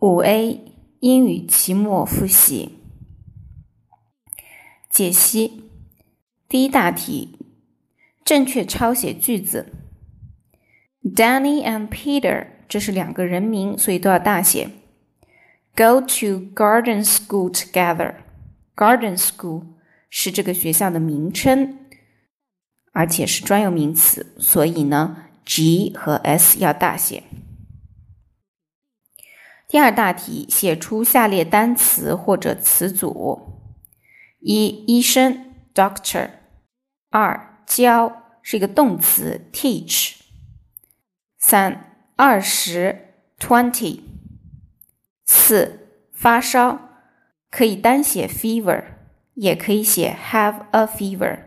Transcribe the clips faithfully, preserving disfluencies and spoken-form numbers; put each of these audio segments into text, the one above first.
五 A 英语期末复习解析。第一大题，正确抄写句子。 Danny and Peter 这是两个人名，所以都要大写。 Go to garden school together. Garden school 是这个学校的名称，而且是专有名词，所以呢 G 和 S 要大写。第二大题，写出下列单词或者词组。一、医生 doctor。 二、教是一个动词 teach。三、二十 twenty。四、发烧可以单写 fever， 也可以写 have a fever。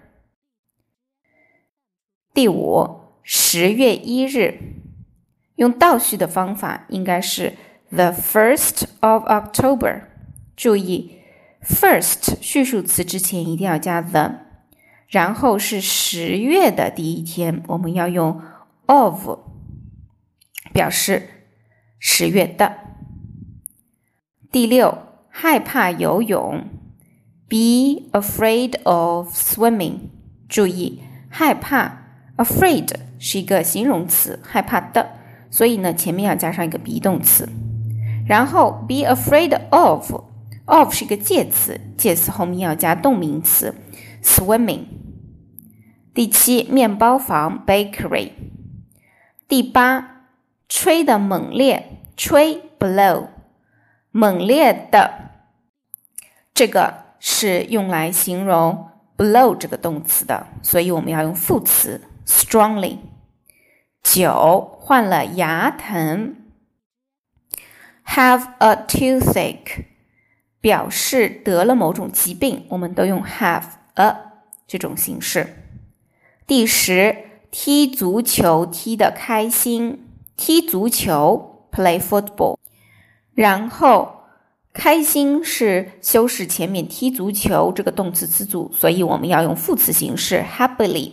第五，十月一日，用倒叙的方法应该是 the first of October。 注意 first 叙述词之前一定要加 the， 然后是十月的第一天，我们要用 of 表示十月的。第六，害怕游泳 be afraid of swimming。 注意害怕 afraid 是一个形容词，害怕的，所以呢前面要加上一个 be 动词。然后 be afraid of of 是一个介词，介词后面要加动名词 swimming。 第七，面包房 bakery。 第八，吹的猛烈，吹 blow， 猛烈的这个是用来形容 blow 这个动词的，所以我们要用副词 strongly。 九，患了牙疼 have a toothache， 表示得了某种疾病，我们都用 have a 这种形式。第十，踢足球踢得开心，踢足球 play football。 然后开心是修饰前面踢足球这个动词词组，所以我们要用副词形式 happily。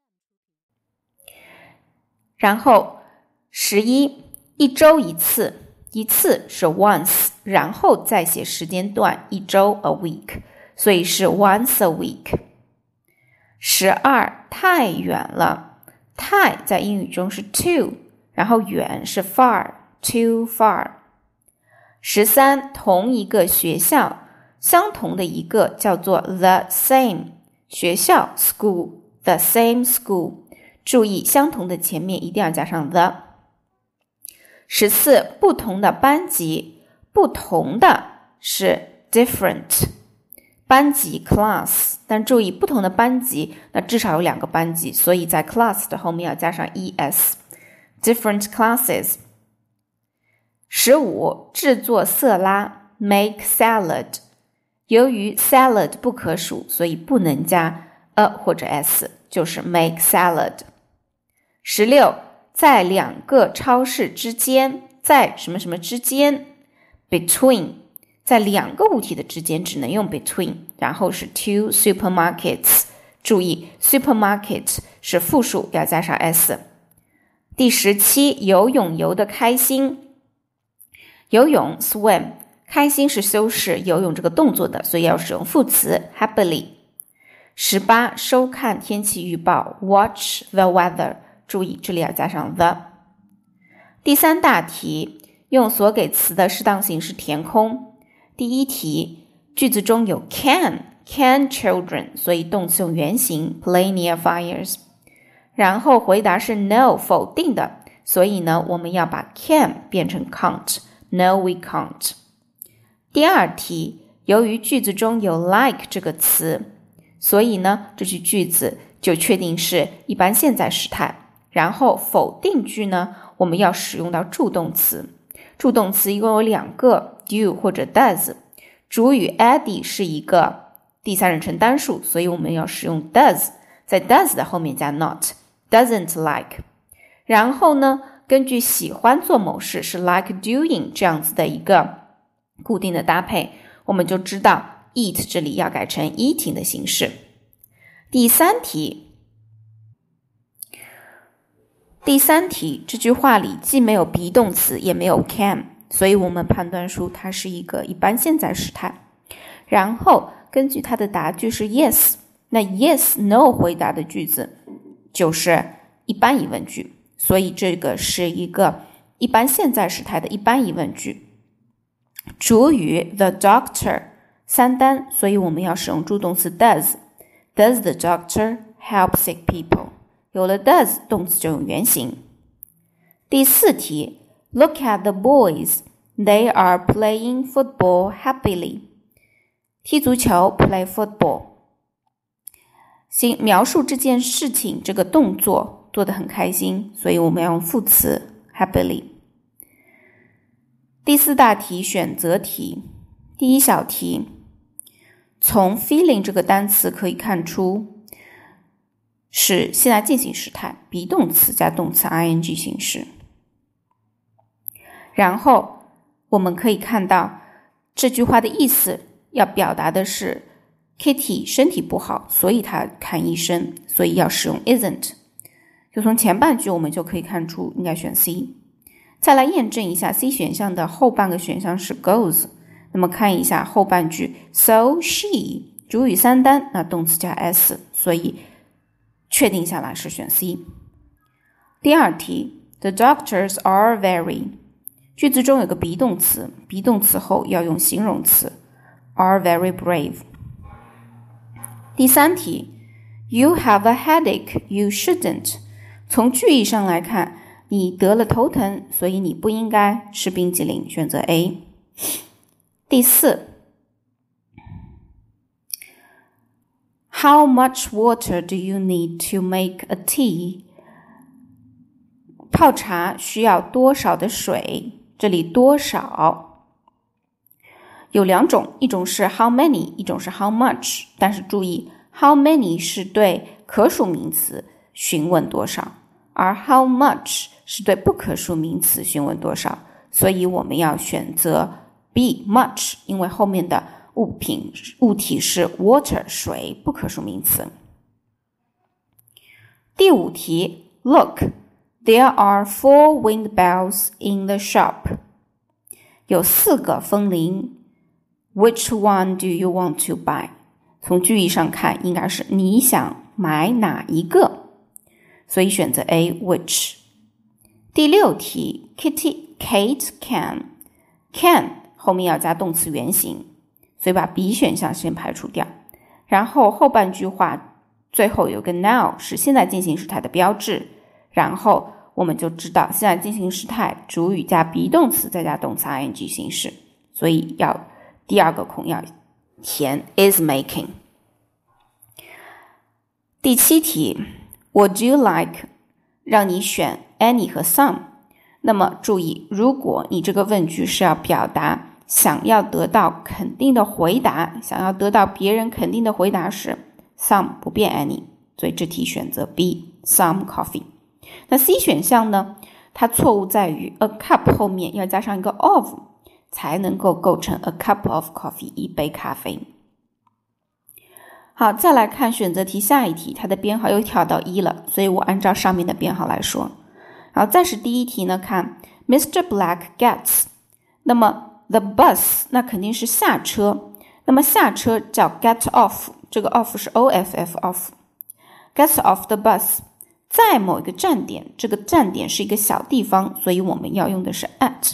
然后十一，一周一次，一次是 once， 然后再写时间段，一周 a week， 所以是 once a week。十二，太远了，太在英语中是 too， 然后远是 far， too far。十三，同一个学校，相同的一个叫做 the same， 学校 school， the same school。 注意相同的前面一定要加上 the。 十四，不同的班级，不同的是 different， 班级 class， 但注意不同的班级那至少有两个班级，所以在 class 的后面要加上 es， different classes。十五，制作色拉 make salad， 由于 salad 不可数，所以不能加 a 或者 s， 就是 make salad。十六，在两个超市之间，在什么什么之间 between， 在两个物体的之间只能用 between， 然后是 two supermarkets， 注意 supermarket 是复数，要加上 s。第十七，游泳游得开心，游泳 swim， 开心是修饰游泳这个动作的，所以要使用副词 happily。 十八，收看天气预报 watch the weather， 注意这里要加上 the。 第三大题，用所给词的适当形式填空。第一题，句子中有 can can children， 所以动词用原形 play near fires。 然后回答是 no 否定的，所以呢我们要把 can 变成 can't， no we can't。 第二题，由于句子中有 like 这个词，所以呢这句句子就确定是一般现在时态。然后否定句呢我们要使用到助动词，助动词一共有两个 do 或者 does， 主语 Eddie 是一个第三人称单数，所以我们要使用 does， 在 does 的后面加 not， doesn't like。 然后呢根据喜欢做某事是 like doing 这样子的一个固定的搭配，我们就知道 eat 这里要改成 eating 的形式。第三题，第三题这句话里既没有 be 动词也没有 can， 所以我们判断出它是一个一般现在时态。然后根据它的答句是 yes， 那 yes no 回答的句子就是一般疑问句，所以这个是一个一般现在时态的一般疑问句。主语 the doctor 三单，所以我们要使用助动词 does。 Does the doctor help sick people？ 有了 does 动词就用原形。第四题 Look at the boys, they are playing football happily。 踢足球 play football， 描述这件事情这个动作做得很开心，所以我们要用副词 happily。第四大题选择题，第一小题，从 feeling 这个单词可以看出是现在进行时态 be 动词加动词 ing 形式。然后我们可以看到这句话的意思要表达的是 Kitty 身体不好，所以她看医生，所以要使用 isn't。 就从前半句我们就可以看出应该选 C。再来验证一下 C 选项的后半个选项是 goes， 那么看一下后半句 So she 主语三单，那动词加 s， 所以确定下来是选 C。 第二题 The doctors are very， 句子中有个 be 动词 be 动词后要用形容词 are very brave。 第三题 You have a headache, you shouldn't， 从句意上来看你得了头疼，所以你不应该吃冰激凌，选择 A。 第四 How much water do you need to make a tea？ 泡茶需要多少的水？这里多少有两种，一种是 how many， 一种是 how much， 但是注意 how many 是对可数名词询问多少，而 how much是对不可数名词询问多少，所以我们要选择 B much， 因为后面的物品物体是 water 水，不可数名词。第五题 Look, there are four wind bells in the shop， 有四个风铃 Which one do you want to buy？ 从句意上看应该是你想买哪一个，所以选择 A which。第六题 Kitty Kate can can 后面要加动词原形，所以把 B 选项先排除掉。然后后半句话最后有个 now 是现在进行时态的标志，然后我们就知道现在进行时态主语加 be 动词再加动词 ing 形式，所以要第二个空要填 is making。 第七题 Would you like 让你选 any 和 some， 那么注意如果你这个问句是要表达想要得到肯定的回答，想要得到别人肯定的回答时 some 不变 any， 所以这题选择 B some coffee。 那 C 选项呢，它错误在于 a cup 后面要加上一个 of 才能够构成 a cup of coffee 一杯咖啡。好，再来看选择题下一题，它的编号又跳到一了，所以我按照上面的编号来说。然后再是第一题呢，看 Mister Black gets， 那么 the bus 那肯定是下车，那么下车叫 get off， 这个 off 是 O F F off， gets off the bus 在某一个站点，这个站点是一个小地方，所以我们要用的是 at，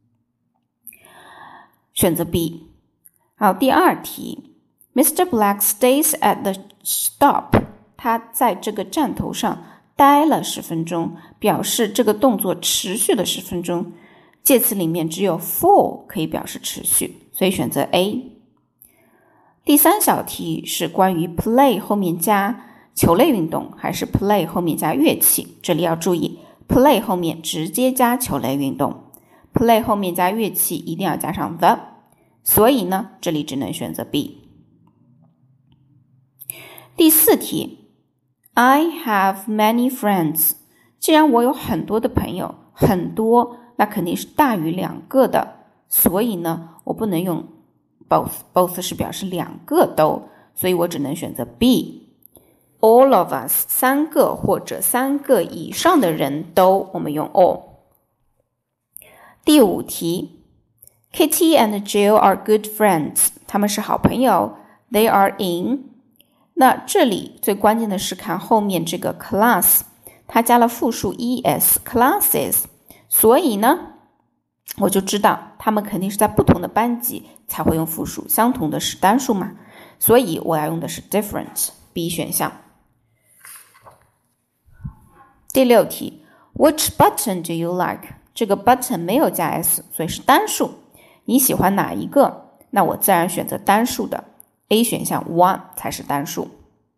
选择 B。 好，第二题Mister Black stays at the stop， 他在这个站头上待了十分钟，表示这个动作持续了十分钟，介词里面只有 for 可以表示持续，所以选择 A。 第三小题是关于 play 后面加球类运动还是 play 后面加乐器，这里要注意 play 后面直接加球类运动， play 后面加乐器一定要加上 the， 所以呢这里只能选择 B。第四题 I have many friends， 既然我有很多的朋友，很多那肯定是大于两个的，所以呢我不能用 both， both 是表示两个都，所以我只能选择 B All of us 三个或者三个以上的人都，我们用 all。 第五题 Kitty and Jill are good friends. 他们是好朋友。They are in. 那这里最关键的是看后面这个 class， 它加了复数 es classes， 所以呢，我就知道他们肯定是在不同的班级才会用复数，相同的是单数嘛，所以我要用的是 different B 选项。第六题 Which button do you like？ 这个 button 没有加 s， 所以是单数。你喜欢哪一个？那我自然选择单数的 A 选项 one 才是单数。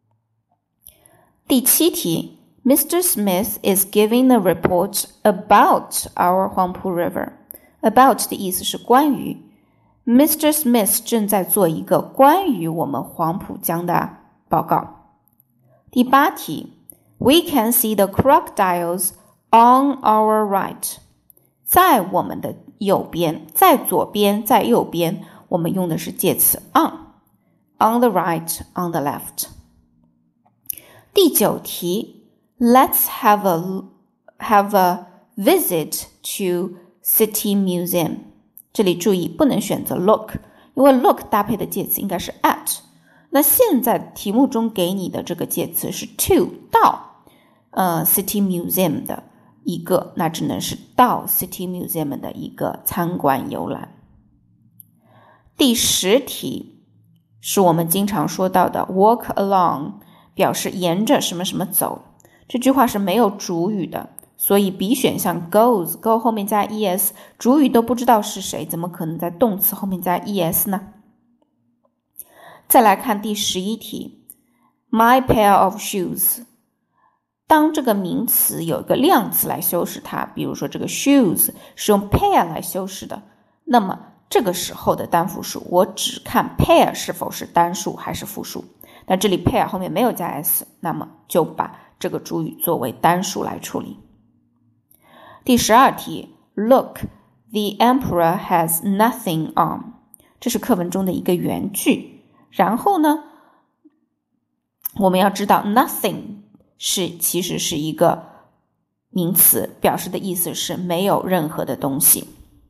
第七题 Mister Smith is giving a report about our Huangpu River。 About 的意思是关于， Mister Smith 正在做一个关于我们黄浦江的报告。第八题 We can see the crocodiles on our right。 在我们的右边，在左边，在右边，我们用的是介词 on。 On the right, on the left。 第九题 Let's have a, have a visit to City Museum。 这里注意不能选择 look， 因为 look 搭配的介词应该是 at。 那现在题目中给你的这个介词是 to 到呃 City Museum 的一个，那只能是到 City Museum 的一个参观游览。第十题是我们经常说到的 walk along， 表示沿着什么什么走。这句话是没有主语的，所以 B 选项 goes go 后面加 es， 主语都不知道是谁，怎么可能在动词后面加 es 呢？再来看第十一题 My pair of shoes。 当这个名词有一个量词来修饰它，比如说这个 shoes 是用 pair 来修饰的，那么这个时候的单复数我只看 pair 是否是单数还是复数。那这里 pair 后面没有加 s， 那么就把这个主语作为单数来处理。第十二题 Look, the emperor has nothing on。 这是课文中的一个原句。然后呢，我们要知道 nothing 是其实是一个名词，表示的意思是没有任何的东西。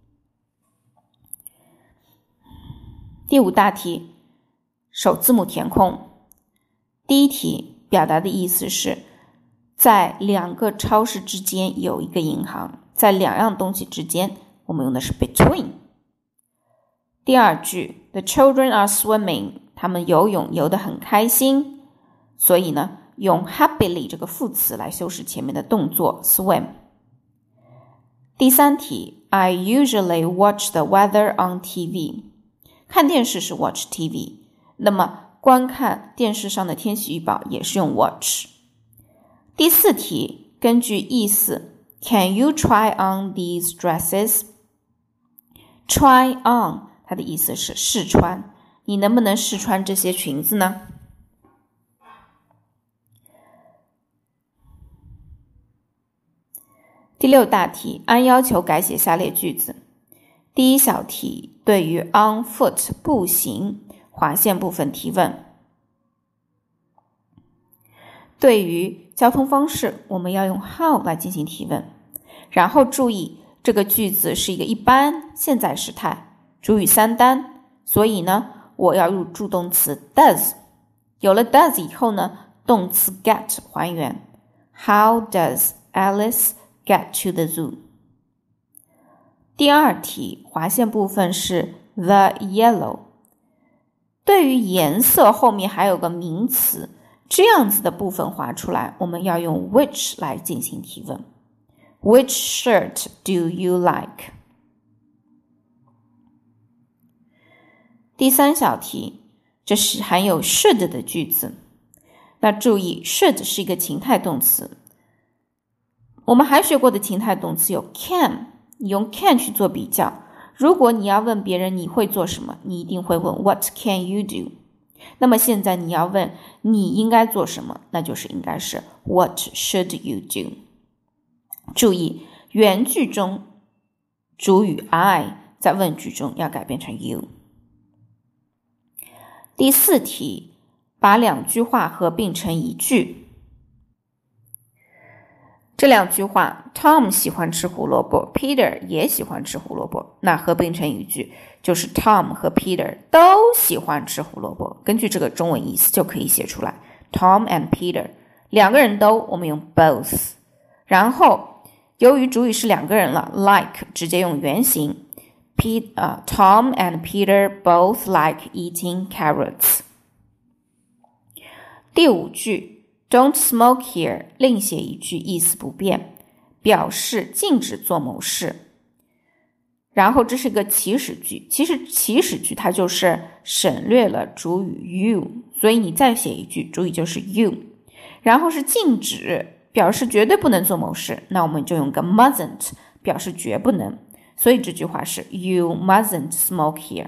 第五大题首字母填空。第一题表达的意思是在两个超市之间有一个银行，在两样东西之间我们用的是 between。 第二句 The children are swimming， 他们游泳游得很开心，所以呢用 happily 这个副词来修饰前面的动作 swim。 第三题 I usually watch the weather on T V。 看电视是 watch T V， 那么观看电视上的天气预报也是用 watch。 第四题根据意思 Can you try on these dresses？ Try on 它的意思是试穿，你能不能试穿这些裙子呢？第六大题按要求改写下列句子。第一小题对于 on foot 步行划线部分提问。对于交通方式我们要用 how 来进行提问。然后注意这个句子是一个一般现在时态，主语三单，所以呢我要用助动词 does。 有了 does 以后呢，动词 get 还原。 How does Alice get to the zoo？ 第二题划线部分是 the yellow。 对于颜色后面还有个名词，这样子的部分划出来，我们要用 which 来进行提问。 Which shirt do you like？ 第三小题这是含有 should 的句子。那注意 should 是一个情态动词，我们还学过的情态动词有 can， 你用 can 去做比较。如果你要问别人你会做什么，你一定会问 What can you do？ 那么现在你要问你应该做什么，那就是应该是 What should you do？ 注意原句中主语 I 在问句中要改变成 you。 第四题把两句话合并成一句。 这两句话 Tom 喜欢吃胡萝卜 Peter 也喜欢吃胡萝卜，那合并成一句就是 Tom 和 Peter 都喜欢吃胡萝卜，根据这个中文意思就可以写出来 Tom and Peter 两个人都我们用 both， 然后由于主语是两个人了 like 直接用原形 P,、uh, Tom and Peter both like eating carrots。 第五句Don't smoke here 另写一句意思不变，表示禁止做某事。然后这是个祈使句，其实祈使句它就是省略了主语 you， 所以你再写一句主语就是 you， 然后是禁止，表示绝对不能做某事，那我们就用个 mustn't 表示绝不能，所以这句话是 You mustn't smoke here。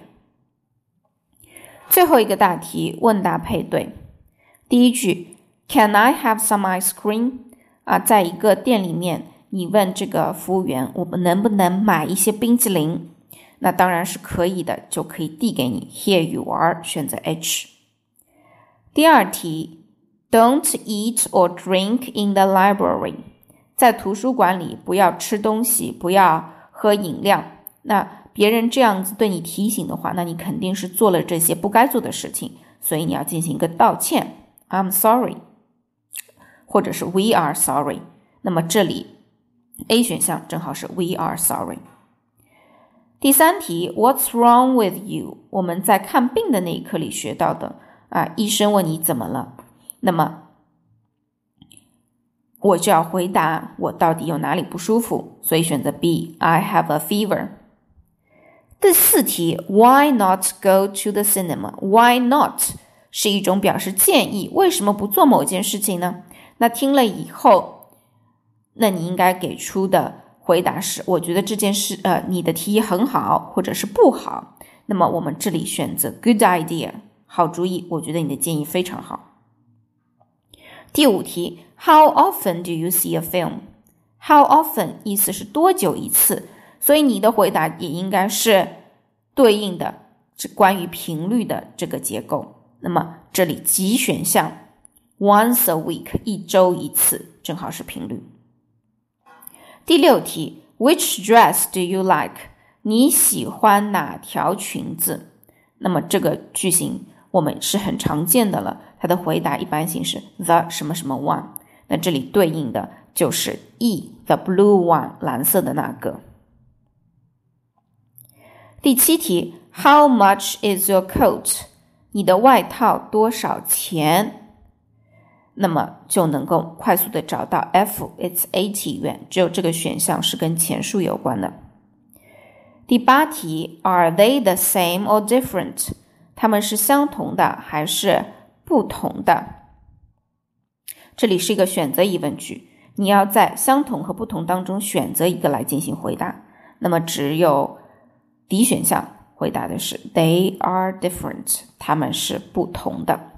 最后一个大题问答配对，第一句Can I have some ice cream? 啊，在一个店里面，你问这个服务员，我们能不能买一些冰淇淋？那当然是可以的，就可以递给你。Here you are， 选择 H。第二题 ，Don't eat or drink in the library。在图书馆里不要吃东西，不要喝饮料。那别人这样子对你提醒的话，那你肯定是做了这些不该做的事情，所以你要进行一个道歉。I'm sorry。或者是 We are sorry， 那么这里 A 选项正好是 We are sorry。 第三题 What's wrong with you？ 我们在看病的那一课里学到的啊，医生问你怎么了，那么我就要回答我到底有哪里不舒服，所以选择 B I have a fever。 第四题 Why not go to the cinema？ Why not 是一种表示建议，为什么不做某件事情呢？那听了以后，那你应该给出的回答是我觉得这件事呃，你的提议很好或者是不好，那么我们这里选择 good idea， 好主意，我觉得你的建议非常好。第五题 How often do you see a film？ How often 意思是多久一次，所以你的回答也应该是对应的是关于频率的这个结构，那么这里几选项Once a week 一周一次，正好是频率。第六题 Which dress do you like？ 你喜欢哪条裙子？那么这个句型我们是很常见的了，它的回答一般性是 the 什么什么 one， 那这里对应的就是 E the blue one 蓝色的那个。第七题 How much is your coat？ 你的外套多少钱？那么就能够快速的找到 F it's eighty 元，只有这个选项是跟钱数有关的。第八题 Are they the same or different？ 它们是相同的还是不同的？这里是一个选择疑问句，你要在相同和不同当中选择一个来进行回答，那么只有 D 选项回答的是 They are different， 它们是不同的。